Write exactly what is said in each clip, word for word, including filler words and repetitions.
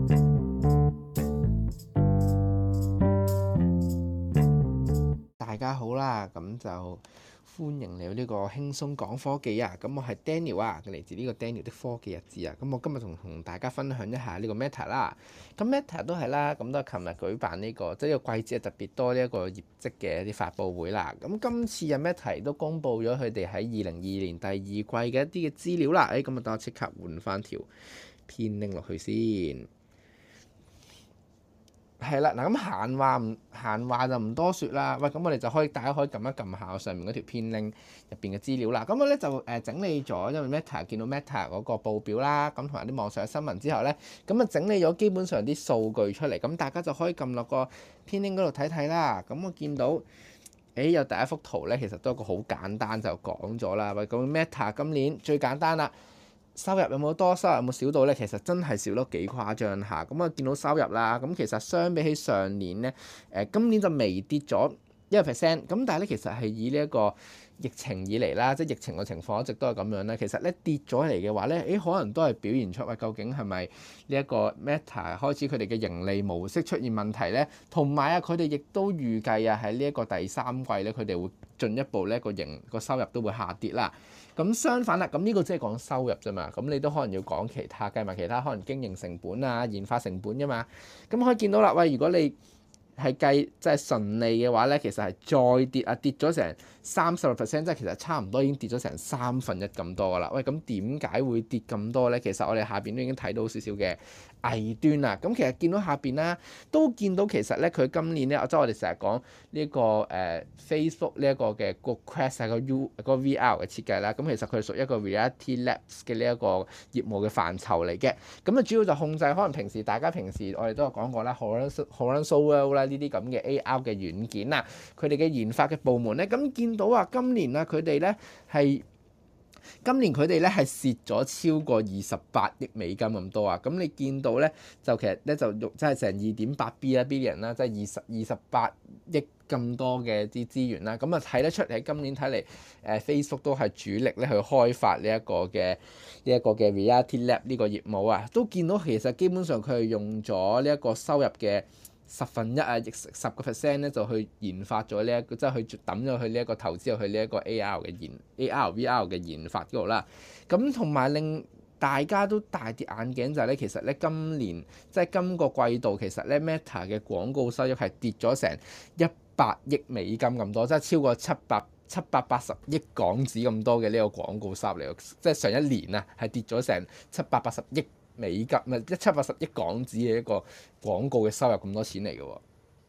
大家好啦，咁就歡迎嚟到呢個輕鬆講科技啊！咁我係 Daniel 啊，嚟自呢個 Daniel 的科技日誌啊！咁我今日同同大家分享一下呢個 Meta 啦。咁 Meta 都係啦，咁都係琴日舉辦呢個即係呢個季節特別多呢一個業績嘅一啲發佈會啦。咁今次啊 Meta 都公布咗佢哋喺二零二二年第二季嘅一啲嘅資料啦。誒，咁啊等我即刻換翻條片拎落去先。係啦，嗱咁閒話唔閒話就唔多説啦。喂，咁我哋就可以大家可以撳一撳下上面嗰條片 link 入邊嘅資料啦。咁我咧就誒整理咗，因為 Meta 見到 Meta 嗰個報表啦，咁同埋啲網上嘅新聞之後咧，咁啊整理咗基本上啲數據出嚟，咁大家就可以撳落個片 link 嗰度睇睇啦。咁我見到誒、欸、有第一幅圖咧，其實都係一個好簡單就講咗啦。喂，咁 Meta 今年最簡單啦。收入有冇多？收入有冇少到咧？其實真係少得幾誇張下。咁啊，見到收入啦，咁其實相比起上年咧，誒今年就微跌咗一個 percent。咁但係咧，其實係以呢一個疫情以嚟啦，即係疫情嘅情況一直都係咁樣咧。其實咧跌咗嚟嘅話咧，誒可能都係表現出喂，究竟係咪呢一個 Meta 開始佢哋嘅盈利模式出現問題咧？同埋啊，佢哋亦都預計啊喺呢一個第三季咧，佢哋會進一步咧個盈個收入都會下跌啦。咁相反啦，咁呢個即係講收入啫嘛，咁你都可能要講其他，計埋其他可能經營成本啊、研發成本㗎嘛。咁可以見到啦，喂，如果你係計即係純利嘅話咧，其實係再跌啊，跌咗成三十個 percent，即係其實差唔多已經跌咗成三分一咁多噶啦。喂，咁點解會跌咁多咧？其實我哋下邊都已經睇到少少嘅弊端啦。咁其實見到下邊啦，都見到其實咧佢今年咧，即係我哋成日講呢個誒、呃、Facebook 呢一個嘅個 Quest 係個 U 個 V R 嘅設計啦。咁其實佢係屬於一個 Reality Labs 嘅呢一個業務嘅範疇嚟嘅。咁啊主要就控制可能平時大家平時我哋都有講過啦 Horizon World 啦。呢啲咁嘅 A R 嘅軟件啊，佢哋嘅研發嘅部門咧，咁見到啊，今年啊，佢哋咧係今年佢哋咧係蝕咗超過二十八億美金咁多啊！咁你見到咧，就其實咧就用即係成二點八 B 啦 billion 啦，即係二十二十八億咁多嘅啲資源啦。咁啊睇得出喺今年睇嚟，誒 Facebook 都係主力咧去開發呢一個嘅呢一個嘅 Reality Lab 呢個業務啊，都見到其實基本上佢係用咗呢一個收入嘅十分一啊，亦十個 percent 咧就去研發咗呢一個，即係去抌咗去呢一個投資入去呢一個 A R 嘅研 A R V R 嘅研發嗰度啦。咁同埋令大家都大跌眼鏡就係咧，其實咧今年即係今個季度，其實咧 Meta 嘅廣告收入係跌咗成一百億美金咁多，即係超過七百七百八十億港紙咁多嘅呢個廣告收入嚟，即係上一年啊係跌咗成七百八十億美金，唔係一七百八十億港紙嘅一個廣告嘅收入咁多錢嚟嘅喎。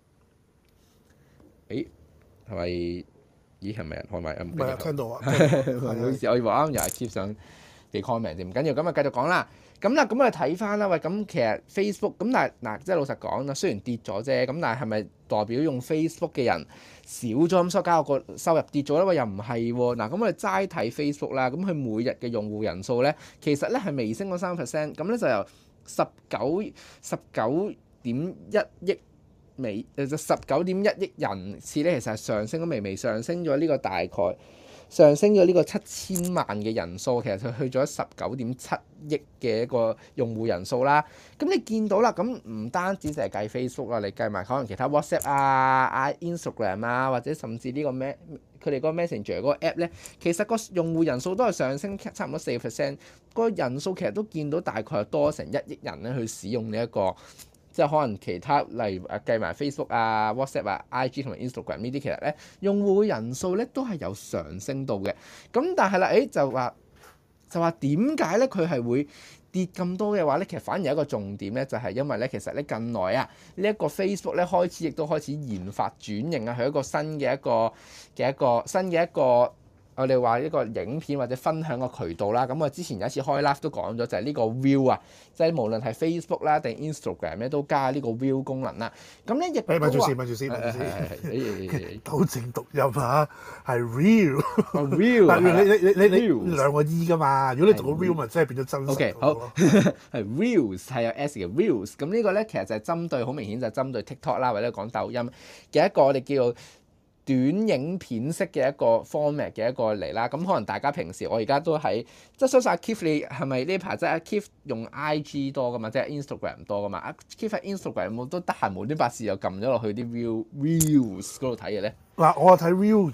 誒係咪？咦係咪人開咪？唔係啊，聽到啊。唔好意思，我以為啱啱又係貼上你 comment 啫，唔緊要，咁啊繼續講啦。咁啦，咁我哋睇翻啦，喂，咁其實 Facebook 咁，但係嗱，即係老實講啦，雖然跌咗啫，咁但係係咪代表用 Facebook 嘅人少咗咁，所以加個收入跌咗咧？喂，又唔係喎。嗱，咁我哋齋睇 Facebook 啦，咁佢每日嘅用戶人數咧，其實咧係微升咗三 percent，咁咧就由十九十九點一億美誒，就十九點一億人次咧，其實係上升咗微微上升咗呢個大概。上升咗呢個七千萬嘅人數，其實佢去咗十九點七億嘅一個用戶人數啦。咁你見到啦，咁唔單止淨係計 Facebook 啦，你計埋可能其他 WhatsApp 啊、Instagram 啊，或者甚至呢個咩佢哋嗰個 Messenger 嗰個 app 咧，其實個用戶人數都係上升差唔多四個 percent。個人數其實都見到大概係多成一億人咧去使用呢一個。即係可能其他例如誒計埋 Facebook 啊、WhatsApp 啊、I G 同埋 Instagram 呢啲，其實咧用戶嘅人數咧都係有上升到嘅。咁但係啦，誒就話就話點解咧佢係會跌咁多嘅話咧？其實反而有一個重點咧，就係因為咧其實咧近來啊呢一個 Facebook 咧開始亦都開始研發轉型啊，係一個新嘅一個嘅一個新嘅一個。我哋話一個影片或者分享個渠道啦，咁我之前有一次開 live 都講咗，就係呢個 View 啊，即係無論係 Facebook 啦定 Instagram 咧，都加呢個 View 功能啦。咁咧亦都話，咪住先，咪住先，咪住先，糾正讀音嚇，係 Real，Real，但係你你你你你兩個 E 噶嘛？如果你讀個 Real 咪真係變咗真實。OK，好，係 Reels 係有 S 嘅 Reels，咁呢個咧其實就係針對好明顯就係針對 TikTok 啦，或者講抖音嘅一個我哋叫做短影片式嘅一個 format 嘅一個嚟啦。咁可能大家平時我而家都喺即係相信阿 Keith 你係咪呢排即係阿 Keith 用 I G 多噶嘛，即係 Instagram 多噶嘛？阿 Keith 喺 Instagram 有冇都得閒無端白事又撳咗落去啲 real reels 嗰度睇嘅咧？嗱， 我係睇 reels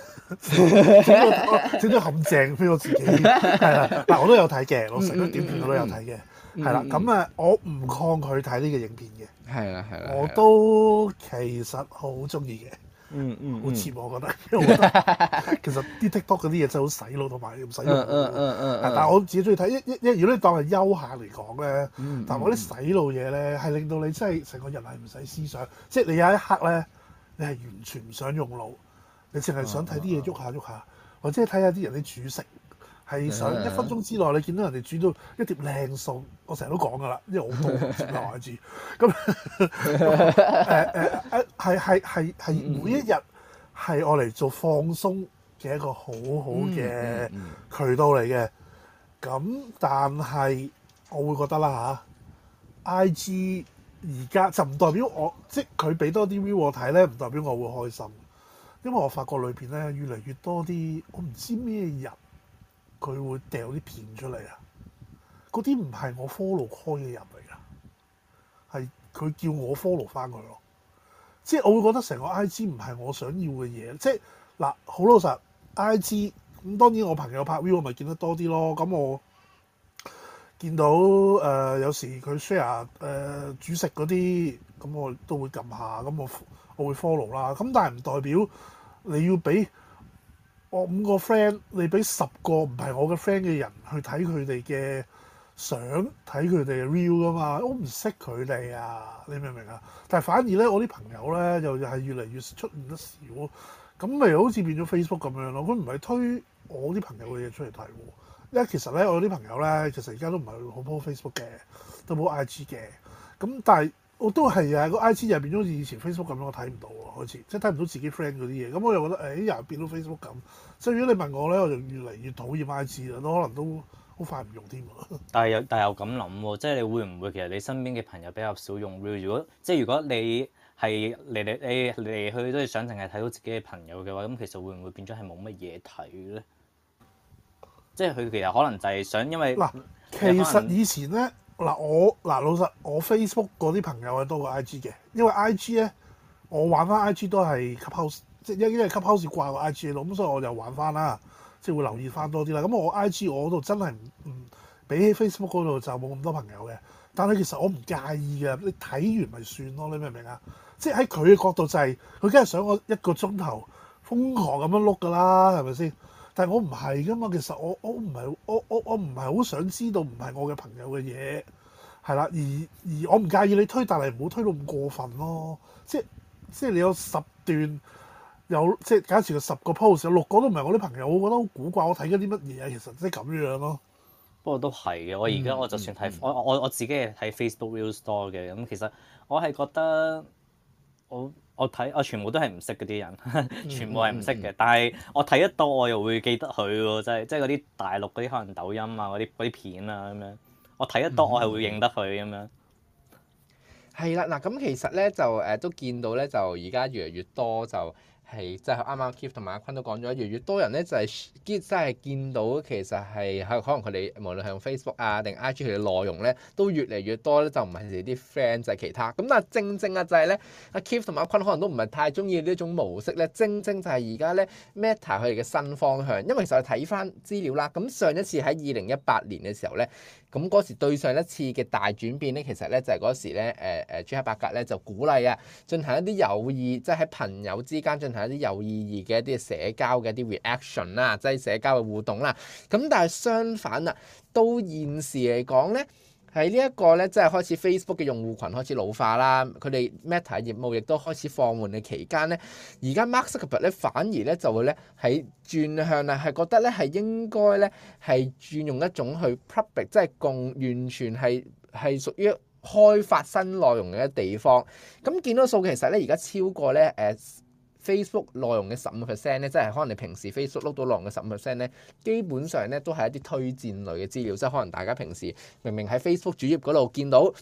嘅，整咗陷阱俾我自己係啦。嗱，我都有睇嘅，我成日短片我都有睇嘅，係啦。咁啊，我唔抗拒睇呢個影片嘅， 係啦係啦， 我都其實好中意嘅。 嗯嗯， 好似我覺得，因為我覺得其實啲 TikTok 嗰啲嘢真係好洗腦同埋唔使用。嗯嗯嗯嗯。但係我自己中意睇，一一一如果你當係休閒嚟講咧，嗯、但係我啲洗腦嘢咧係令到你真係成個人係唔使思想，即係你有一刻咧，你係完全唔想用腦，你淨係想睇啲嘢喐下喐下，或者睇下啲人啲煮食。係想一分鐘之內，你見到人哋煮到一碟靚餸，我成日都講噶啦，因為好多唔知留下字。咁誒誒誒，係係係係每一日係我嚟做放鬆嘅一個好好嘅渠道嚟嘅。咁但係我會覺得啦嚇 I G 而家就唔代表我，即係佢俾多啲 view 我睇咧，唔代表我會開心。因為我發覺裏邊咧越嚟越多啲，我唔知咩人。佢會掉啲片出嚟啊！嗰啲唔係我 follow 開嘅人嚟噶，係佢叫我 follow 翻佢咯。即係我會覺得成個 I G 唔係我想要嘅嘢。即係嗱，好老實 I G 咁，當然我朋友拍 view 我咪見得多啲咯。咁我見到誒、呃、有時佢 share 誒煮食嗰啲，咁我都會撳下，咁我我會 follow 啦。咁但係唔代表你要俾我五個 friend，你俾十個唔係我嘅 friend 嘅人去睇佢哋嘅相，睇佢哋嘅 reel 噶嘛？我唔識佢哋啊，你明唔明啊？但係反而咧，我啲朋友咧又係越嚟越出現得少，咁咪好似變咗 Facebook 咁樣咯。佢唔係推我啲朋友嘅嘢出嚟睇喎，因為其實咧我啲朋友咧其實而家都唔係好 po Facebook 嘅，都冇 I G 嘅。咁但係我都係啊，個 I G 又變咗好似以前 Facebook 咁樣，我睇唔到喎，開始即係睇唔到自己 friend 嗰啲嘢。咁我又覺得誒又變到 Facebook 咁。所以如果你問我咧，我就越嚟越討厭 I G 啦，都可能都好快唔用添。 但係又但係又咁諗喎，即係你會唔會其實你身邊嘅朋友比較少用 Real？如果即係如果你係嚟嚟你嚟嚟去都係想淨係睇到自己嘅朋友嘅話，咁其實會唔會變咗係冇乜嘢睇咧？即係佢其實可能就係想因為嗱，其實以前咧嗱我嗱老實，我 Facebook 嗰啲朋友係多過 I G 嘅，因為 I G 咧我玩翻 I G 都係 Clubhouse。即係因為 Clubhouse掛個 I G 咯，咁所以我就玩翻啦，即係會留意翻多啲啦。咁我 I G 我嗰度真係唔唔比起 Facebook 嗰度就冇咁多朋友嘅。但係其實我唔介意嘅，你睇完咪算咯，你明唔明啊？即係喺佢嘅角度就係、是，佢梗係想我一個鐘頭瘋狂咁樣碌㗎啦，係咪先？但係我唔係㗎嘛，其實我我唔係我我我唔係好想知道唔係我嘅朋友嘅嘢，係啦。而而我唔介意你推，但係唔好推到咁過分咯。即係即係你有十段。有即係假設個十個 post 有六個都唔係我啲朋友，我覺得好古怪。我睇緊啲乜嘢啊？其實即係咁樣咯。 不過都係嘅。我而家我就算睇、嗯、我我我自己係睇 Facebook Reels 多嘅。咁其實我係覺得我我睇我全部都係唔識嗰啲人，全部係唔識嘅。嗯嗯、但係我睇得多，我又會記得佢喎。即係即係嗰啲大陸嗰啲可能抖音啊嗰啲啲片啊咁樣。我睇得多，我係會認得佢咁樣。 係啦、嗯，嗱、嗯、咁其實咧就誒、呃、都見到咧，就而家越嚟越多就。係，即係啱啱 Keith 同埋阿坤都講咗，越嚟越多人咧就係、是、見，真係見到其實係喺可能佢哋無論係用 Facebook 啊定 I G 佢嘅內容咧，都越嚟越多咧，就唔係佢哋啲 friend 就係其他。咁但係正正啊就係咧，阿 Keith 同埋阿坤可能都唔係太中意呢一種模式咧。正正就係而家咧 Meta 佢哋嘅新方向，因為其實睇翻資料啦，咁上一次喺二零一八年嘅時候咧。咁嗰時對上一次嘅大轉變咧，其實咧就係嗰時咧，誒誒朱克伯格咧就鼓勵啊，進行一啲有意，即係喺朋友之間進行一啲有意義嘅一啲社交嘅一啲 reaction 啦，即係社交嘅互動啦。咁但係相反啊，到現時嚟講咧。喺呢一個咧，即係開始 Facebook 嘅用戶群開始老化啦，佢哋 Meta 業務亦都開始放緩嘅期間咧，而家 Mark Zuckerberg 咧反而咧就會咧喺轉向啊，係覺得咧係應該咧係轉用一種去 public，即係共完全係係屬於開發新內容嘅地方。咁見到數其實咧而家超過咧誒。Facebook 內容嘅十五個 percent 咧，即係可能你平時 Facebook 碌到內容嘅十五 percent 咧，基本上咧都係一啲推薦類嘅資料，即係可能大家平時明明喺 Facebook 主頁嗰度見到。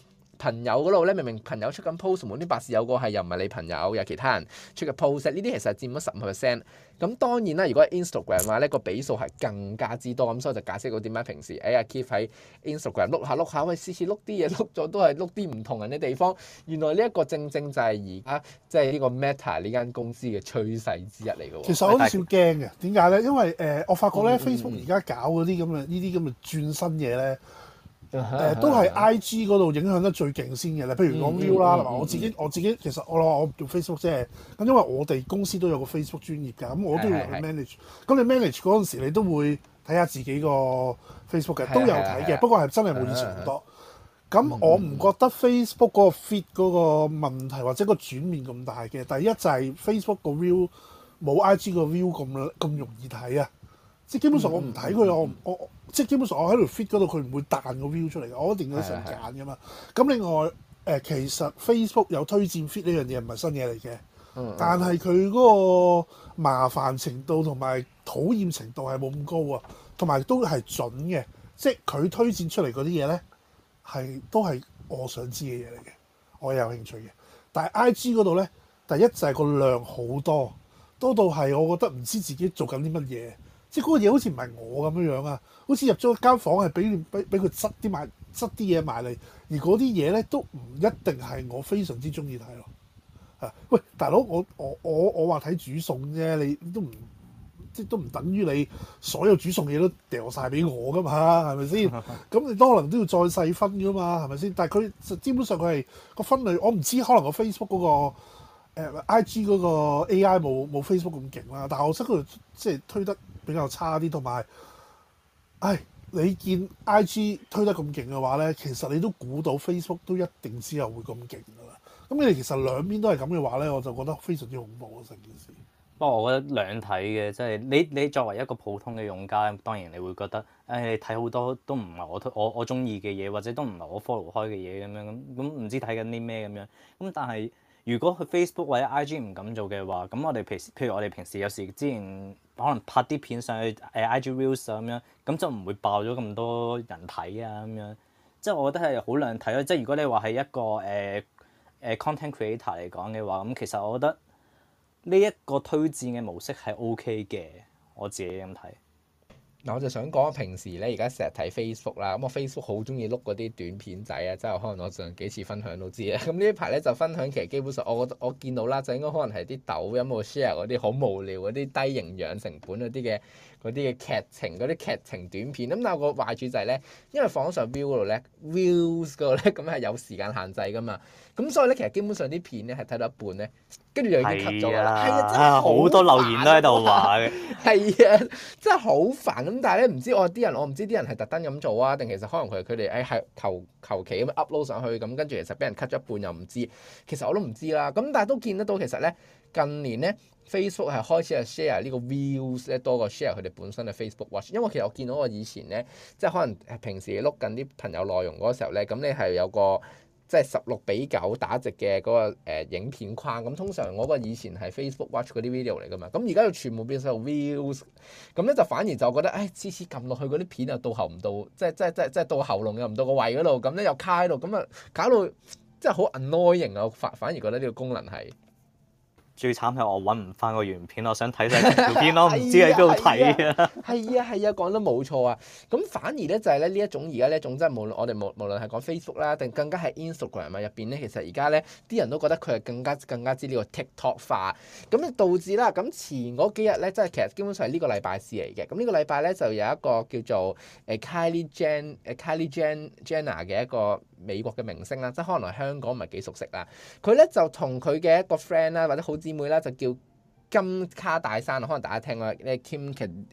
朋友嗰度咧，明明朋友出緊 post，無端白事有個係又唔係你朋友，有其他人出嘅 post，呢啲其實佔咗十五 percent。咁當然啦，如果係 Instagram 嘅話咧，個比數係更加之多，咁所以就解釋到點解平時誒阿 Keith 喺 Instagram 碌下碌下，喂，次次碌啲嘢碌咗都係碌啲唔同人嘅地方。原來呢一個正正就係而家即係呢個 Meta 呢間公司嘅趨勢之一嚟嘅喎。 其實我有少少驚嘅，點解咧？因為誒、呃，我發覺咧、嗯、Facebook 而家搞嗰啲咁嘅呢啲咁嘅轉新嘢咧。誒、呃、都係 I G 嗰度影響得最勁先嘅咧，譬如講 View 啦，同埋我自己我自己其實我我我做 Facebook 啫，咁因為我哋公司都有個 Facebook 專頁㗎，咁我都要去 manage。咁你 manage 嗰陣時，你都會睇下自己個 Facebook 嘅，都有睇嘅，不過係真係冇以前咁多。咁我唔覺得 Facebook 嗰個 feed 嗰個問題或者個轉變咁大嘅。第一就係 Facebook 個 view 冇 I G 個 view 咁咁容易睇啊，即係基本上我唔睇佢，我我。即係基本上我喺度 fit 嗰度，佢唔會彈個 view 出嚟嘅，我一定要成揀㗎嘛。咁另外誒、呃，其實 Facebook 有推薦 fit 呢樣嘢唔係新嘢嚟嘅，嗯、但係佢嗰個麻煩程度同埋討厭程度係冇咁高啊，同埋都係準嘅。即係佢推薦出嚟嗰啲嘢咧，係都係我想知嘅嘢嚟嘅，我有興趣嘅。但係 I G 嗰度咧，第一就係個量好多，多到係我覺得唔知自己做緊啲乜嘢。即係嗰個嘢好似唔係我咁樣樣啊，好似入咗間房係俾俾俾佢塞啲埋塞啲嘢埋嚟，而嗰啲嘢咧都唔一定係我非常之中意睇咯。啊，喂，大佬，我我我我話睇煮餸啫，你都唔即係都唔等於你所有煮餸嘢都掉晒俾我噶嘛，係咪先？咁你都可能都要再細分噶嘛，係咪先？但係佢就基本上佢係個分類，我唔知可能個 Facebook 嗰個。誒 I G 嗰個 A I 冇冇 Facebook 咁勁啦，但係我覺得佢即係推得比較差啲，同埋，唉，你見 I G 推得咁勁嘅話咧，其實你都估到 Facebook 都一定之後會咁勁㗎啦。咁你哋其實兩邊都係咁嘅話咧，我就覺得非常之恐怖啊成件事。 不過我覺得兩睇嘅，即係你你作為一個普通嘅用家，當然你會覺得，誒你睇好多都唔係我推我我中意嘅嘢，或者都唔係我 follow 開嘅嘢咁樣咁，咁唔知睇緊啲咩咁樣。咁但係如果佢 Facebook 或者 I G 唔敢做嘅話，咁我哋平時，譬如我哋平時有時之前可能拍啲片上去誒 I G Reels 啊咁樣，咁就唔會爆咗咁多人睇啊咁樣。即係我覺得係好兩睇咯。即係如果你話係一個誒誒、呃呃、content creator 嚟講嘅話，咁其實我覺得呢一個推薦嘅模式係 OK 嘅，我自己咁睇。 嗱，我就想講平時咧，而家成日睇 Facebook 啦，咁我 Facebook 好中意碌嗰啲短片仔啊，即係可能我上幾次分享都知啦。咁呢一排咧就分享，其實基本上我覺得我見到啦，就應該可能係啲抖音冇 share 嗰啲好無聊嗰啲低營養成本嗰啲嘅嗰啲嘅劇情嗰啲劇情短片。咁但係個壞處就係咧，因為放上 view 嗰度咧 views 嗰度咧咁係有時間限制噶嘛，咁所以咧其實基本上啲片咧係睇到一半咧，跟住就已經 cut 咗啦。係啊，真係好多留言都喺度話嘅。 係啊，真係好煩。咁但係咧，唔知我啲人，我唔知啲人係特登咁做啊，定其實可能佢佢哋誒係求求其咁 upload 上去咁，跟住其實俾人 cut 咗一半又唔知，其實我都唔知啦。咁但係都見得到，其實咧近年咧 Facebook 係開始係 share 呢個 views 咧多過 share 佢哋本身嘅 Facebook Watch，因為其實我見到我以前咧，即係可能平時碌緊啲朋友內容嗰時候咧，咁你係有個即係十六比九打直嘅嗰個誒影片框，咁通常我個以前係 Facebook Watch 嗰啲 video 嚟㗎嘛，咁而家就全部變晒 views，咁咧就反而就覺得誒次次撳落去嗰啲片又到喉唔到，即係即係即係即係到喉嚨又唔到個胃嗰度，咁咧又卡喺度，咁啊搞到即係好 annoying 啊！反反而覺得呢個功能係。 最慘係我揾唔翻個原片，我想睇晒條片咯，唔知喺邊度睇啊！ 係啊係啊，講得冇錯啊！咁反而咧就係咧呢一種而家呢一種即係無論我哋無無論係講 Facebook 啦，定更加係 Instagram 啊入邊咧，其實而家咧啲人都覺得佢係更加更加之呢個 TikTok 化，咁咧導致啦咁前嗰幾日咧，即係其實基本上係呢個禮拜事嚟嘅。咁呢個禮拜咧就有一個叫做誒 Kylie Jen 誒 Kylie Jen Jenner 嘅一個美國嘅明星啦，即係可能香港唔係幾熟悉啦。佢咧就同佢嘅一個 friend 啦，或者好姊妹啦，就叫金卡戴珊，可能大家聽過咧 Kim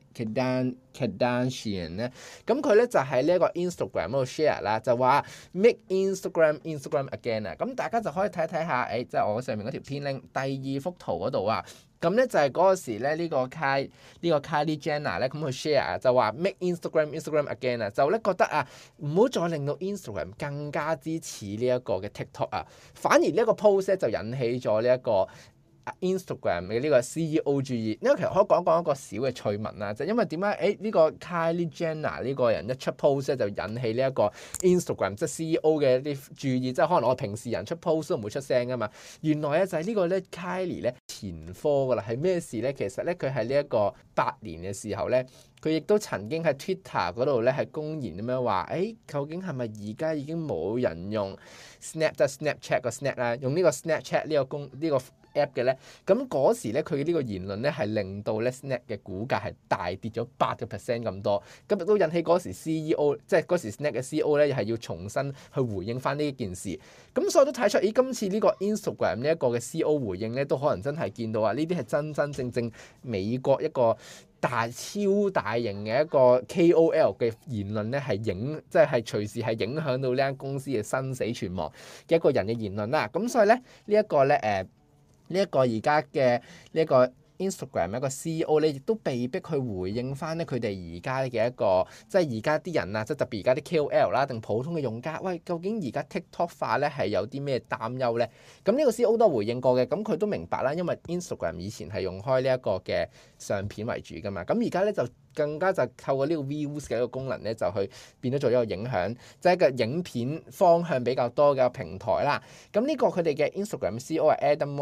Kardashian 咧，咁佢咧就喺呢一個 Instagram 嗰度 share 啦，就話 make Instagram Instagram again 啊，咁大家就可以睇睇下，誒即係我上面嗰條片 link 第二幅圖嗰度啊。咁咧就係嗰個時咧，呢個 Kylie 呢個 Kylie Jenner 咧，咁佢 share 啊，就話 make Instagram Instagram again 啊，就咧覺得啊，唔好再令到 Instagram 更加之似呢一個嘅 TikTok 啊，反而呢一個 post 咧就引起咗呢一個 Instagram 嘅呢個 C E O 注意，因為其實可以講講一個小嘅趣聞啦，就因為點解誒呢個 Kylie Jenner 呢個人一出 post 咧就引起呢一個 Instagram 即係 C E O 嘅一啲注意，即係可能我平時人出 post 都唔會出聲噶嘛。原來咧就係呢個咧 Kylie 咧前科噶啦，係咩事咧？其實咧佢係呢一個八年嘅時候咧，佢亦都曾經喺 Twitter 嗰度咧係公然咁樣話，誒、欸、究竟係咪而家已經冇人用 Snap 即係 Snapchat 個 Snap 啦，用呢個 Snapchat 呢個公呢、呢個 app 嘅咧？咁嗰時咧佢嘅呢個言論咧係令到咧 Snap 嘅股價係大跌咗八個 percent 咁多，咁亦都引起嗰時 C E O 即係嗰時 Snap 嘅 C E O 咧係要重新去回應翻呢一件事。咁所以都睇出，咦今次呢個 Instagram 呢一個嘅 C E O 回應咧，都可能真係見到啊！呢啲係真真正正美國一個大超大型嘅一個 K O L 嘅言論咧，係影即係係隨時係影響到呢間公司嘅生死存亡嘅一個人嘅言論啦。咁所以咧呢一、這個咧誒呢一個而家嘅呢一個 Instagram 一個 C E O 咧，亦都被逼去回應翻咧佢哋而家嘅一個即係而家啲人啊，即係特別而家啲 K O L 啦，定普通嘅用家，喂，究竟而家 TikTok 化咧係有啲咩擔憂咧？咁呢個 C E O 都回應過嘅，咁佢都明白啦，因為 Instagram 以前係用開呢一個嘅相片為主噶嘛，咁而家咧就更加就透過呢個 Views 嘅一個功能咧，就去變咗做一個影響，即係一個影片方向比較多嘅平台啦。咁呢個佢哋嘅 Instagram C E O 係 Adam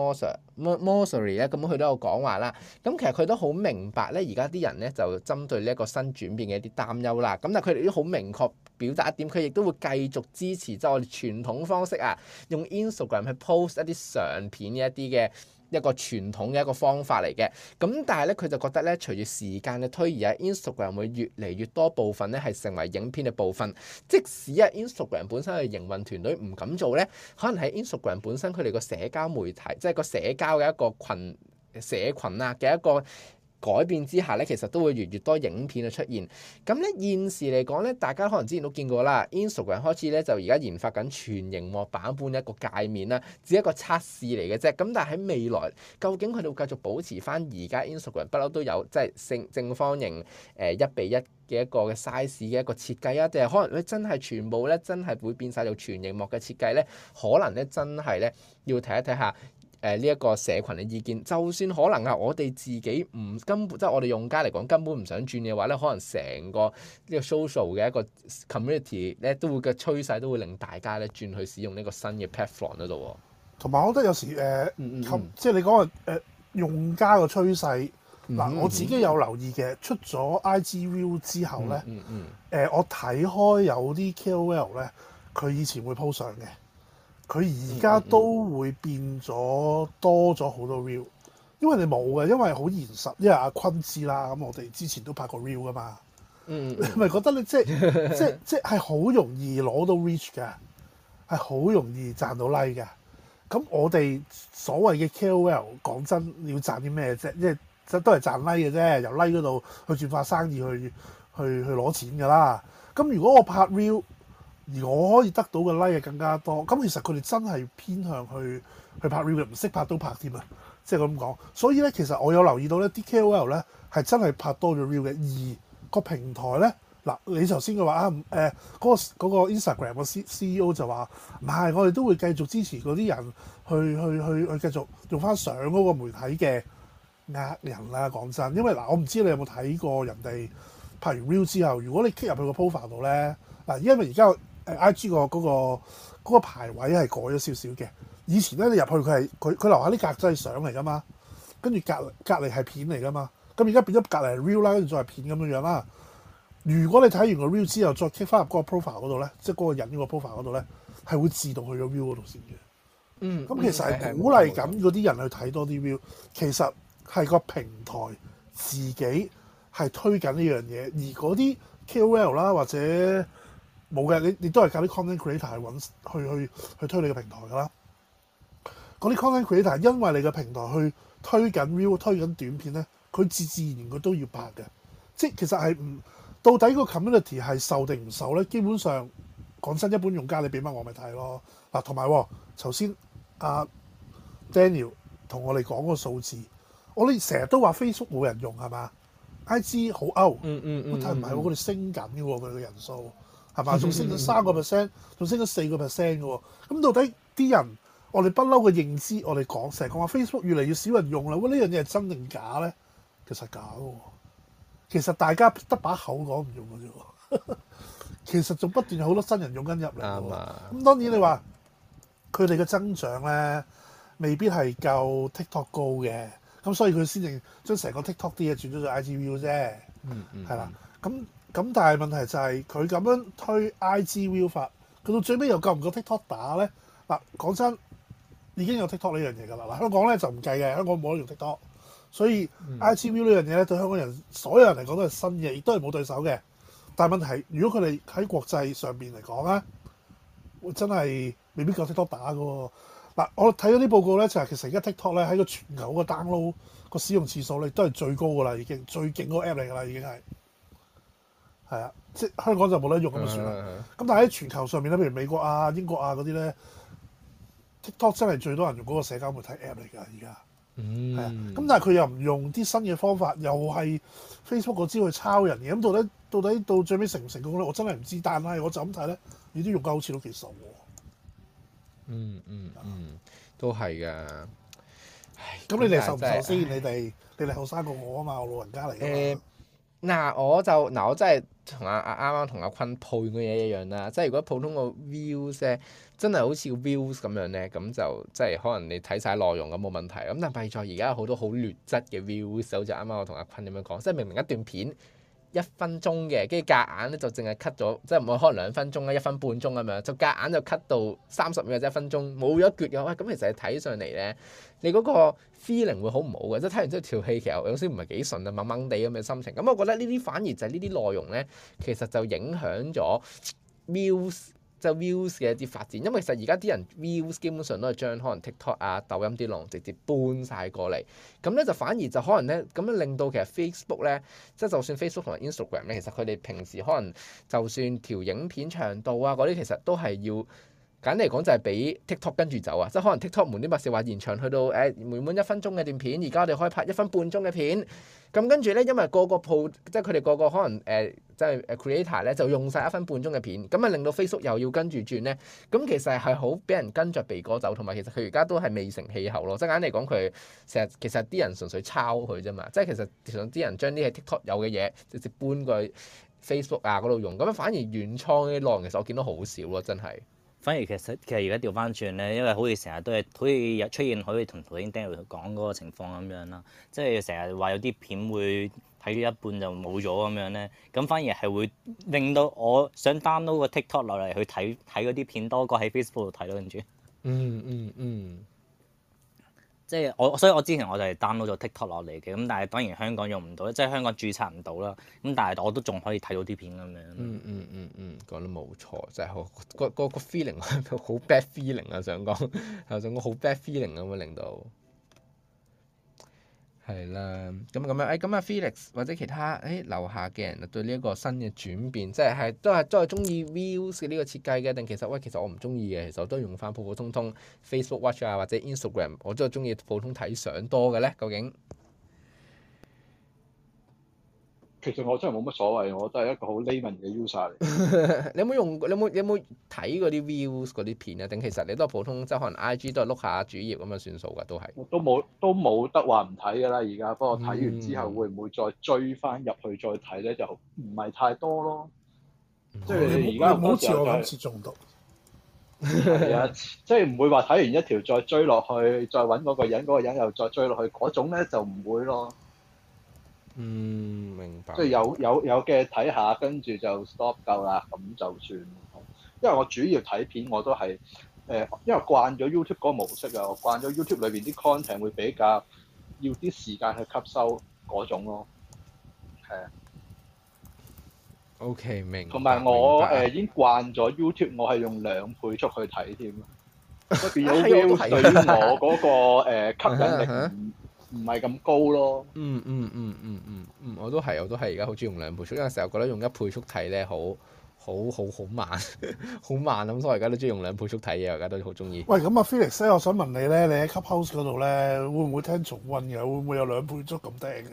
Mosseri 咧，咁佢都有講話啦。咁其實佢都好明白咧，而家啲人咧就針對呢一個新轉變嘅一啲擔憂啦。咁但係佢哋都好明確表達一點，佢亦都會繼續支持即係我哋傳統方式啊，用 Instagram 去 post 一啲相片嘅一啲嘅一個傳統嘅一個方法嚟嘅，咁但係咧佢就覺得咧，隨住時間嘅推移啊 ，Instagram 會越嚟越多部分咧係成為影片嘅部分。即使啊 Instagram 本身嘅營運團隊唔敢做咧，可能喺 Instagram 本身佢哋個社交媒體，即係個社交嘅一個群社群啊嘅一個改變之下咧，其實都會越嚟越多影片嘅出現。咁咧現時嚟講咧，大家可能之前都見過啦 ，Instagram 開始咧就而家研發緊全螢幕版本一個界面啦，只係一個測試嚟嘅啫。咁但係喺未來，究竟佢哋會繼續保持翻而家 Instagram 不嬲都有即係正正方形誒一比一嘅一個嘅 size 嘅一個設計啊？定係可能佢真係全部咧真係會變晒做全螢幕嘅設計咧？可能咧真係咧要睇一睇下。誒呢一個社群嘅意見，就算可能啊，我哋自己唔根本即係我哋用家嚟講根本唔想轉嘅話咧，可能成個呢個 social 嘅一個 community 咧，都會嘅趨勢都會令大家咧轉去使用呢個新嘅 platform 嗰度。同埋我覺得有時誒，呃嗯嗯、即係你講嘅誒用家個趨勢，嗱、嗯嗯、我自己有留意嘅，出咗 I G View 之後咧，誒、嗯嗯嗯呃、我睇開有啲 K O L 咧，佢以前會 po 相嘅。佢而家都會變咗多咗好多 reel，因為你冇嘅，因為好現實。因為阿坤知啦，咁我哋之前都拍過 reel 噶嘛。嗯，你咪覺得你即係即係即係好容易攞到 reach 嘅，係好容易賺到 like 嘅。咁我哋所謂嘅 K O L 講真，你要賺啲咩啫？即係即都係賺 like 嘅啫，由 like 嗰度去轉化生意去去去攞錢㗎啦。咁如果我拍 reel，而我可以得到嘅 like 更加多，咁其實佢哋真係偏向去去拍 reel，唔識拍都拍添啊！即係咁講，所以咧其實我有留意到咧，啲 K O L 咧係真係拍多咗 reel 嘅，而個平台咧嗱，你頭先嘅話啊誒嗰個嗰個 Instagram 個 C C E O 就話唔係，我哋都會繼續支持嗰啲人去去去去繼續用翻相嗰個媒體嘅呃人啦。講真，因為嗱，我唔知你有冇睇過人哋拍完 reel 之後，如果你 click 入去個 profile 度咧嗱，因為而家誒 I G 個嗰個嗰個排位係改咗少少嘅。以前咧你入去佢係佢佢樓下啲格仔係相嚟噶嘛，跟住隔隔離係片嚟噶嘛。咁而家變咗隔離係 reel 啦，跟住再係片咁樣樣啦。如果你睇完個 reel 之後再 click 翻入嗰個 profile 嗰度咧，即係嗰個人嗰個 profile 嗰度咧，係會自動去咗 reel 嗰度先嘅。嗯，咁其實係鼓勵緊嗰啲人去睇多啲 reel。其實係個平台自己係推緊呢樣嘢，而嗰啲 K O L 啦或者冇嘅，你你都係靠啲 content creator 去揾去去去推你個平台㗎啦。嗰啲 content creator 因為你個平台去推緊 reel 推緊短片咧，佢自自然然佢都要拍嘅。即係其實係唔到底個 community 係受定唔受咧？基本上講真，一般用家你俾乜我咪睇咯。嗱，同埋頭先阿 Daniel 同我哋講個數字，我哋成日都話 Facebook 冇人用係嘛 ？I G 好 out， 嗯嗯嗯， 但係唔係喎，佢哋升緊嘅喎，佢哋嘅人數係嘛？仲升咗三個 percent，仲升咗四個 percent 嘅喎。咁到底啲人我哋不嬲嘅認知，我哋講成日講話 Facebook 越嚟越少人用啦。喂，呢樣嘢係真定假咧？其實假喎。其實大家得把口講唔用嘅啫。其實仲不斷有好多新人用緊入嚟。啱啊。咁當然你話佢哋嘅增長咧，未必係夠 TikTok 高嘅。咁所以佢先至將成個 TikTok 啲嘢轉咗做 I G View 啫。嗯嗯。係啦。咁咁，但係問題就係佢咁樣推 I G View 法，佢到最尾又夠唔夠 TikTok 打咧？嗱，講真。已經有 TikTok 呢樣嘢㗎啦，嗱香港咧就唔計嘅，香港冇得用 TikTok，所以 I G View 呢樣嘢咧對香港人所有人嚟講都係新嘅，亦都係冇對手嘅。但係問題係，如果佢哋喺國際上邊嚟講咧，真係未必夠 TikTok 打㗎喎。嗱，我睇咗啲報告咧，就係、是、其實而家 TikTok 咧喺個全球個 download 個使用次數咧都係最高㗎啦，已經最勁嗰個 app 嚟㗎啦，已經係係啊，即係香港就冇得用咁就算啦。咁但係喺全球上面咧，譬如美國啊、英國啊嗰啲咧。TikTok 真係最多人用嗰個社交媒體 app 嚟㗎，而家係啊。咁但係佢又唔用啲新嘅方法，又係 Facebook 嗰招去抄人嘅。咁到底到底到最尾成唔成功咧？我真係唔知。但係我就咁睇咧，你都用得好似都幾熟喎。嗯嗯嗯，都係㗎。咁你哋受唔受先？你哋你哋後生過我啊嘛，我老人家嚟㗎嘛。 嗱，我就嗱，我真係同阿阿啱啱同阿坤配嘅嘢一樣啦。即係如果普通個 views 咧，真係好似個 views 咁樣咧，咁就即係可能你睇晒內容咁冇問題。咁但係弊在而家有好多好劣質嘅 views，好似啱啱我同阿坤咁樣講，即係明明一段片一分鐘嘅，跟住夾硬咧就淨係 cut 咗，即係唔會可能兩分鐘啦，一分半鐘咁樣，就夾硬就 cut 到三十秒或者一分鐘，冇咗一橛嘅。喂，咁其實你睇上嚟咧，你嗰個 feeling 會好唔好嘅？即係睇完之後條戲其實有時唔係幾順啊，掹掹地咁嘅心情。咁我覺得呢啲反而就係呢啲內容咧，其實就影響咗 views。即係 views 嘅一啲發展，因為其實而家啲人 views 基本上都係將可能 TikTok 啊、抖音啲內容直接搬晒過嚟，咁咧就反而就可能咧咁樣令到其實 Facebook 咧，即係就算 Facebook 同埋 Instagram 咧，其實佢哋平時可能就算條影片長度啊嗰啲，其實都係要簡單嚟講就係俾 TikTok 跟住走啊，即係可能 TikTok 瞞天拔事話延長去到誒每滿一分鐘嘅段片，而家我哋可以拍一分半鐘嘅片。咁跟住咧，因為個個鋪即係佢哋個個可能誒、呃，即係誒 creator 咧就用晒一分半鐘嘅片，咁啊令到 Facebook 又要跟住轉咧，咁其實係好俾人跟着鼻哥走，同埋其實佢而家都係未成氣候咯。即係簡單嚟講，佢成日其實啲人純粹抄佢啫嘛，即係其實其實啲人將啲喺 TikTok 有嘅嘢直接搬過去 Facebook 啊嗰度用，咁樣反而原創嘅內容其實我見到好少咯，真係。 反而其實其實而家調翻轉咧，因為好似成日都係好似出現好似同頭先 Daniel 講嗰個情況咁樣啦，即係成日話有啲片會睇咗一半就冇咗咁樣咧，咁反而係會令到我想 download 個 TikTok 落嚟去睇睇嗰啲片多過喺 Facebook 度睇咯，跟住。 嗯嗯嗯。 即係我，所以我之前我就係 download 咗 TikTok 落嚟嘅，咁但係當然香港用唔到，即係香港註冊唔到啦。咁但係我都仲可以睇到啲片咁樣。 嗯嗯嗯嗯，講得冇錯，真係好個個個 feeling 好 bad feeling 啊！想講係想講好 bad feeling 咁樣令到。係啦，咁咁樣，誒咁啊 Felix 或者其他誒樓下嘅人對呢一個新嘅轉變，即係係都係都係中意 views 嘅呢個設計嘅，定其實喂其實我唔中意嘅，其實我都用翻普普通通 Facebook Watch 啊或者 Instagram，我都係中意普通睇相多嘅咧，究竟？ 其實我真係冇乜所謂，我都係一個好 layman 嘅 user 嚟。 你有冇用？你有冇有冇睇嗰啲 views 嗰啲片啊？定其實你都係普通，即係可能 I G 都係碌下主頁咁樣算數㗎，都係。 都冇都冇得話唔睇㗎啦，而家不過睇完之後會唔會再追翻入去再睇咧？就唔係太多咯。 嗯、 即係而家好似我今次中毒。 係啊，即係唔會話睇完一條再追落去，再揾嗰個人，嗰、嗰個人又再追落去嗰種咧，就唔會咯。 嗯，明白。 即係有有有嘅睇下，跟住就 stop 夠啦，咁就算。因為我主要睇片我都係誒、呃，因為慣咗 YouTube 嗰個模式啊，我慣咗 YouTube 裏邊啲 content 會比較要啲時間去吸收嗰種咯。係啊。 OK，明。 同埋我誒、呃、已經慣咗 YouTube，我係用兩倍速去睇添，所以變咗 view 對於我嗰、嗰個、呃、吸引力唔唔係咁高咯。 嗯嗯嗯嗯嗯嗯，我都係，我都係而家好中意用兩倍速，因為成日覺得用一倍速睇咧，好好好好慢，好慢咁，所以而家都中意用兩倍速睇嘢，而家都好中意。 喂，咁啊 Felix 咧，我想問你咧，你喺 Clubhouse 嗰度咧，會唔會聽重溫嘅？會唔會有兩倍速咁聽嘅？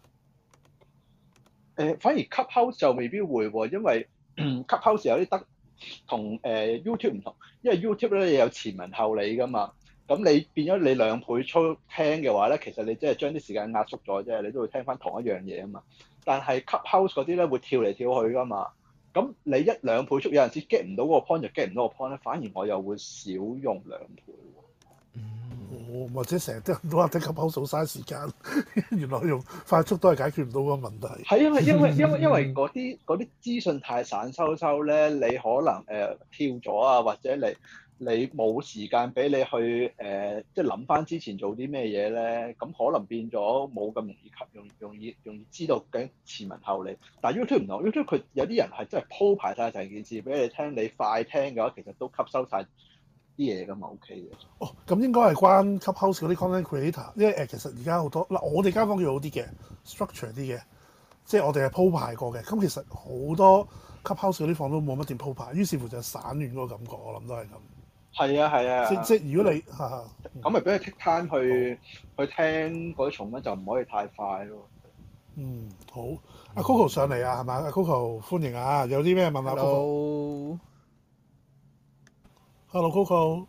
誒、呃，反而 Clubhouse 就未必會喎，因為 Clubhouse 有啲得同誒、呃、YouTube 唔同，因為 YouTube 咧有前文後理噶嘛。咁你變咗你兩倍速聽嘅話咧，其實你即係將啲時間壓縮咗啫，你都會聽翻同一樣嘢啊嘛。但係 Clubhouse 嗰啲咧會跳嚟跳去噶嘛。咁你一兩倍速有陣時 get 唔到嗰個 point 就 get 唔到個 point 咧，反而我又會少用兩倍。 哦，或者成日都都話聽 Clubhouse 好嘥時間，原來用快速都係解決唔到個問題。 係因為因為因為因為嗰啲嗰啲資訊太散收收咧，你可能誒、呃、跳咗啊，或者你你冇時間俾你去誒、呃，即係諗翻之前做啲咩嘢咧，咁可能變咗冇咁容易吸，容容易容易知道嘅前文後理。但係 YouTube 唔同 YouTube 佢有啲人係真係鋪排晒成件事俾你聽，你快聽嘅話，其實都吸收晒啲嘢㗎嘛 ，OK 嘅。 哦，咁應該係關 Clubhouse 嗰啲 content creator，因為誒其實而家好多嗱，我哋間房叫好啲嘅 structure 啲嘅，即係我哋係鋪排過嘅。咁其實好多 Clubhouse 嗰啲房都冇乜點鋪排，於是乎就散亂嗰個感覺，我諗都係咁。 係啊係啊。 即即如果你嚇咁咪俾你 take time 去去聽嗰啲重溫，就唔可以太快咯。 嗯，好。阿 Coco 上嚟啊，係咪？阿 Coco 歡迎啊，有啲咩問下 Coco？ Hello Coco。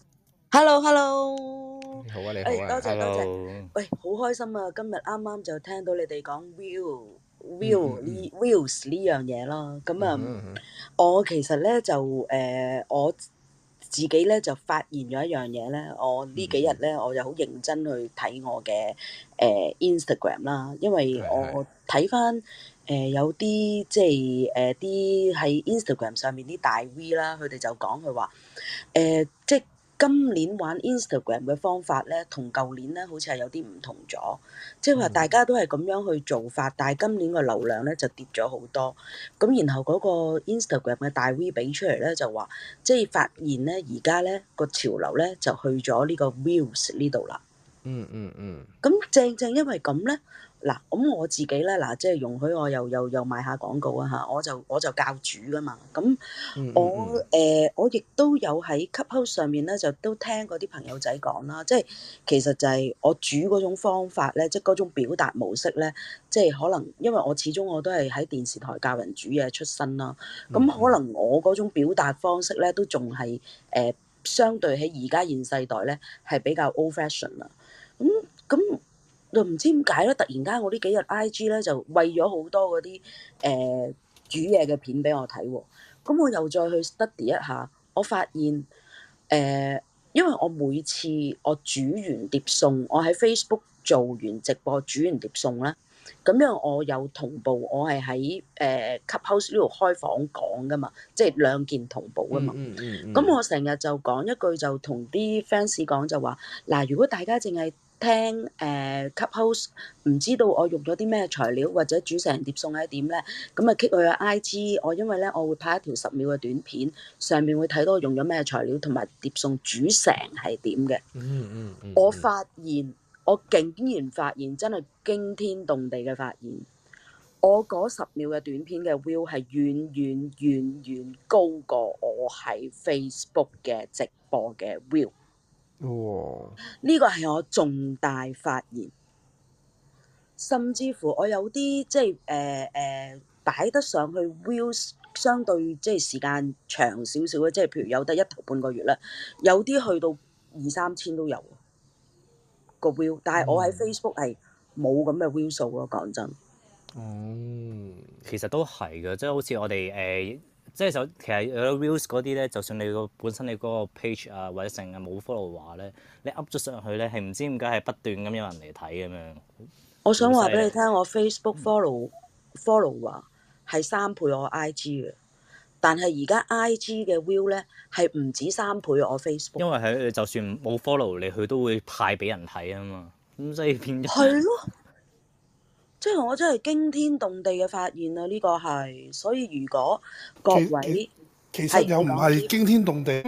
Hello Hello。 你好啊，你好啊。 多謝多謝。 Hello。 喂，好開心啊！今日啱啱就聽到你哋講 view view 呢 views 呢樣嘢啦。咁啊，我其實咧就誒我自己咧就發現咗一樣嘢咧。我呢幾日咧我就好認真去睇我嘅誒 Instagram 啦，因為我睇翻誒有啲即係誒啲喺 Instagram 上面啲大 V 啦，佢哋就講佢話誒即係今年玩 Instagram 嘅方法咧，同舊年咧好似係有啲唔同咗。即係話大家都係咁樣去做法，但係今年個流量咧就跌咗好多。咁然後嗰個 Instagram 嘅大 V 俾出嚟咧就話，即係發現咧而家咧個潮流咧就去咗呢個 views 呢度啦。 嗯嗯嗯。 咁正正因為咁咧。嗱，咁我自己咧，嗱，即係容許我又又又賣下廣告啊嚇，我就我就教煮噶嘛，咁我誒、呃、我亦都有喺 Clubhouse 上面咧，就都聽嗰啲朋友仔講啦，即係其實就係我煮嗰種方法咧，即係嗰種表達模式咧，即係可能因為我始終我都係喺電視台教人煮嘢出身啦，咁可能我嗰種表達方式咧都仲係誒相對喺而家現世代咧係比較 old fashion 啦，咁咁。就唔知點解咧，突然間我呢幾日 I G 咧就餵咗好多嗰啲誒煮嘢嘅片俾我睇喎，咁我又再去 study 一下，我發現誒、呃，因為我每次我煮完碟餸，我喺 Facebook 做完直播煮完碟餸咧，咁樣我有同步，我係喺誒 Clubhouse 呢度開房講噶嘛，即係兩件同步噶嘛。咁、嗯嗯嗯、我成日就講一句就同啲 fans 講就話，嗱，如果大家淨係聽誒 Clubhouse 唔知道我用咗啲咩材料或者煮成碟餸係點咧，咁啊 keep 佢嘅 I G， 我因為咧我會拍一條十秒嘅短片，上面會睇到我用咗咩材料同埋碟餸煮成係點嘅。 嗯嗯嗯。 我發現我竟然發現真係驚天動地嘅發現，我嗰十秒嘅短片嘅 view 係遠遠遠遠高過我喺 Facebook 嘅直播嘅 view。 哇！ 呢個係我重大發現，甚至乎我有啲即係誒誒擺得上去 views 相對即係時間長少少嘅，即係譬如有得一頭半個月啦，有啲去到二三千都有個 view，但係我喺 Facebook 係冇咁嘅 view 數咯，講真。 嗯，其實都係嘅，即係好似我哋誒。呃即係就其實有 reels 嗰啲咧，就算你個本身你嗰個 page 啊或者成日冇 follow 話咧，你 up 咗上去咧係唔知點解係不斷咁有人嚟睇咁樣。 我想話俾你聽，我 Facebook follow follow 話係三倍我 I G 嘅，但係而家 I G 嘅 view 咧係唔止三倍我 Facebook。因為係就算冇 follow 你，佢都會派俾人睇啊嘛，咁所以變咗。 係咯。即係我真係驚天動地嘅發現啊！呢、這個係，所以如果各位其實又唔係驚天動地，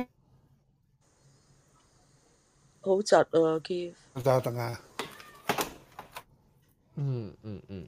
好窒啊 Keith。 等下等下。 嗯嗯嗯。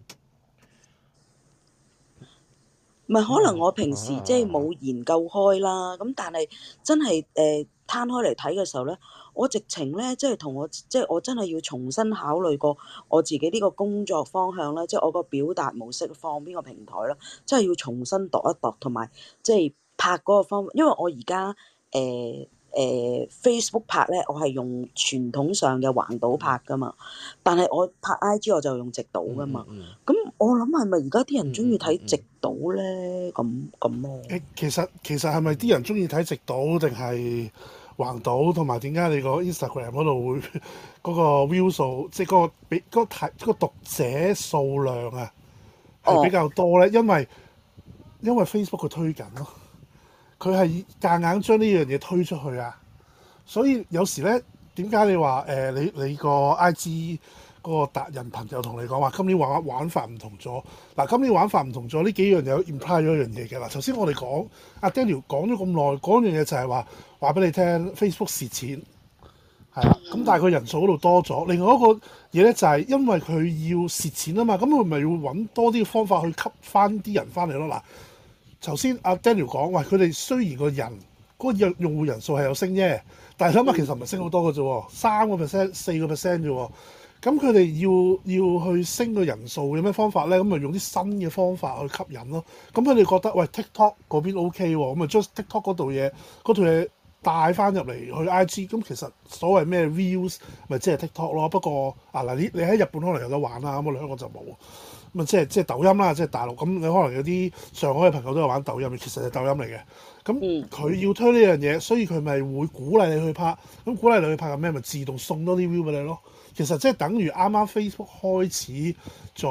唔係可能我平時即係冇研究開啦，咁、啊、但係真係誒攤開嚟睇嘅時候咧，我直情咧即係同我即係我真係要重新考慮過我自己呢個工作方向啦，即係我個表達模式放邊個平台啦，真係要重新度一度，同埋即係拍嗰個方法，因為我而家誒誒 Facebook 拍咧，我係用傳統上嘅橫島拍噶嘛，但係我拍 I G 我就用直島噶嘛。咁、 嗯嗯、 我諗係咪而家啲人中意睇直島咧？咁咁咯。 誒，其實其實係咪啲人中意睇直島定係橫島？同埋點解你個 Instagram 嗰度會嗰個 view 數，即係嗰個比嗰個睇嗰個讀者數量啊，係比較多咧？因為因為 Facebook 佢推緊咯，佢係夾硬將呢樣嘢推出去啊，所以有時咧，點解你話誒、呃、你你個 I G 嗰個達人朋友同你講話今年玩玩法唔同咗？嗱，今年玩法唔同咗，呢幾樣有 imply 咗一樣嘢嘅啦。頭先我哋講阿 Daniel 講咗咁耐，嗰樣嘢就係話話俾你聽 Facebook 蝕錢係啦，咁但係佢人數嗰度多咗。另外一個嘢咧就係因為佢要蝕錢啊嘛，咁佢咪要揾多啲方法去吸翻啲人翻嚟咯。嗱，頭先阿 Daniel 講，喂，佢哋雖然個人嗰、嗰個用戶人數係有升啫，但係諗下其實唔係升好多嘅啫，三個 percent、四個 percent 啫喎。咁佢哋要要去升個人數，有咩方法咧？咁咪用啲新嘅方法去吸引咯。咁佢哋覺得，喂 TikTok 嗰邊 OK 喎，咁咪將 TikTok 嗰度嘢嗰套嘢帶翻入嚟去 I G。咁其實所謂咩 views 咪即係 TikTok 咯。不過啊嗱，你你喺日本可能有得玩啦，咁我哋香港就冇。咁啊即係即係抖音啦，即係大陸。咁你可能有啲上海嘅朋友都有玩抖音，其實係抖音嚟嘅。咁佢要推呢樣嘢，所以佢咪會鼓勵你去拍。咁鼓勵你去拍嘅咩？咪自動送多啲 view 俾你咯。其實即係等於啱啱 Facebook 開始做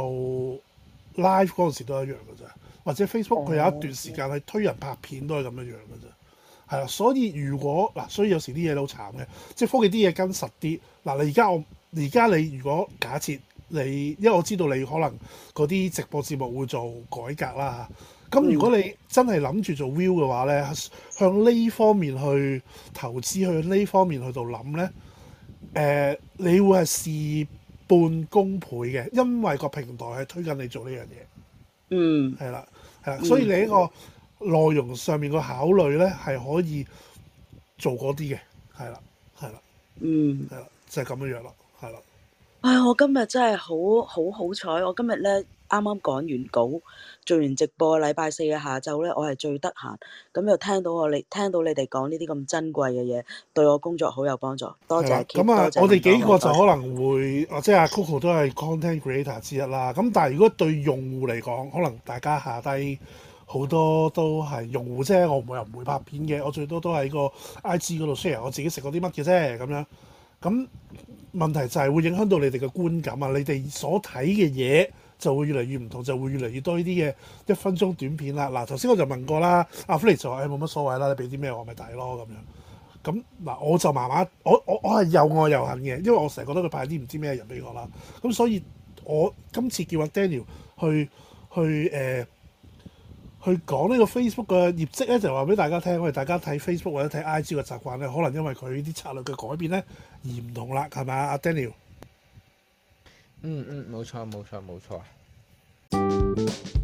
live 嗰陣時都一樣嘅啫，或者 Facebook 佢有一段時間係推人拍片都係咁樣樣嘅啫，係啦。所以如果嗱，所以有時啲嘢都好慘嘅，即係科技啲嘢跟實啲。嗱，你而家我而家你如果假設你，因為我知道你可能嗰啲直播節目會做改革啦，咁如果你真係諗住做 view 嘅話咧，向呢方面去投資，向呢方面去度諗咧。誒、呃，你會係事半功倍嘅，因為個平台係推緊你做呢樣嘢。 嗯， 係啦，係啦，所以你呢個內容上面個考慮咧係可以做嗰啲嘅，係啦，係啦， 嗯， 係啦，就係、是、咁樣樣啦，係啦。 唉、哎，我今日真係好好好彩，我今日咧啱啱趕完稿，做完直播，禮拜四嘅下晝咧，我係最得閒，咁又聽到我你聽到你哋講呢啲咁珍貴嘅嘢，對我工作好有幫助。多謝。 咁啊，我哋幾個就可能會，或者阿 Coco 都係 content creator 之一啦。咁但係如果對用戶嚟講，可能大家下低好多都係用戶啫，我唔會又唔會拍片嘅，我最多都喺個 I G 嗰度 share 我自己食過啲乜嘅啫，咁樣。咁問題就係會影響到你哋嘅觀感啊！你哋所睇嘅嘢就會越嚟越唔同，就會越嚟越多呢啲嘅一分鐘短片啦。嗱，頭先我就問過啦，阿 Fly 就話誒冇乜所謂啦，你俾啲咩我咪睇咯咁樣。咁嗱，我就慢慢，我我我係又愛又恨嘅，因為我成日覺得佢派啲唔知咩人俾我啦。咁所以我今次叫阿 Daniel 去去誒。呃去講呢個 Facebook 嘅業績咧，就話俾大家聽，我哋大家睇 Facebook 或者睇 I G 嘅習慣咧，可能因為佢啲策略嘅改變咧而唔同啦，係咪啊，阿 Daniel？ 嗯嗯，冇錯冇錯冇錯。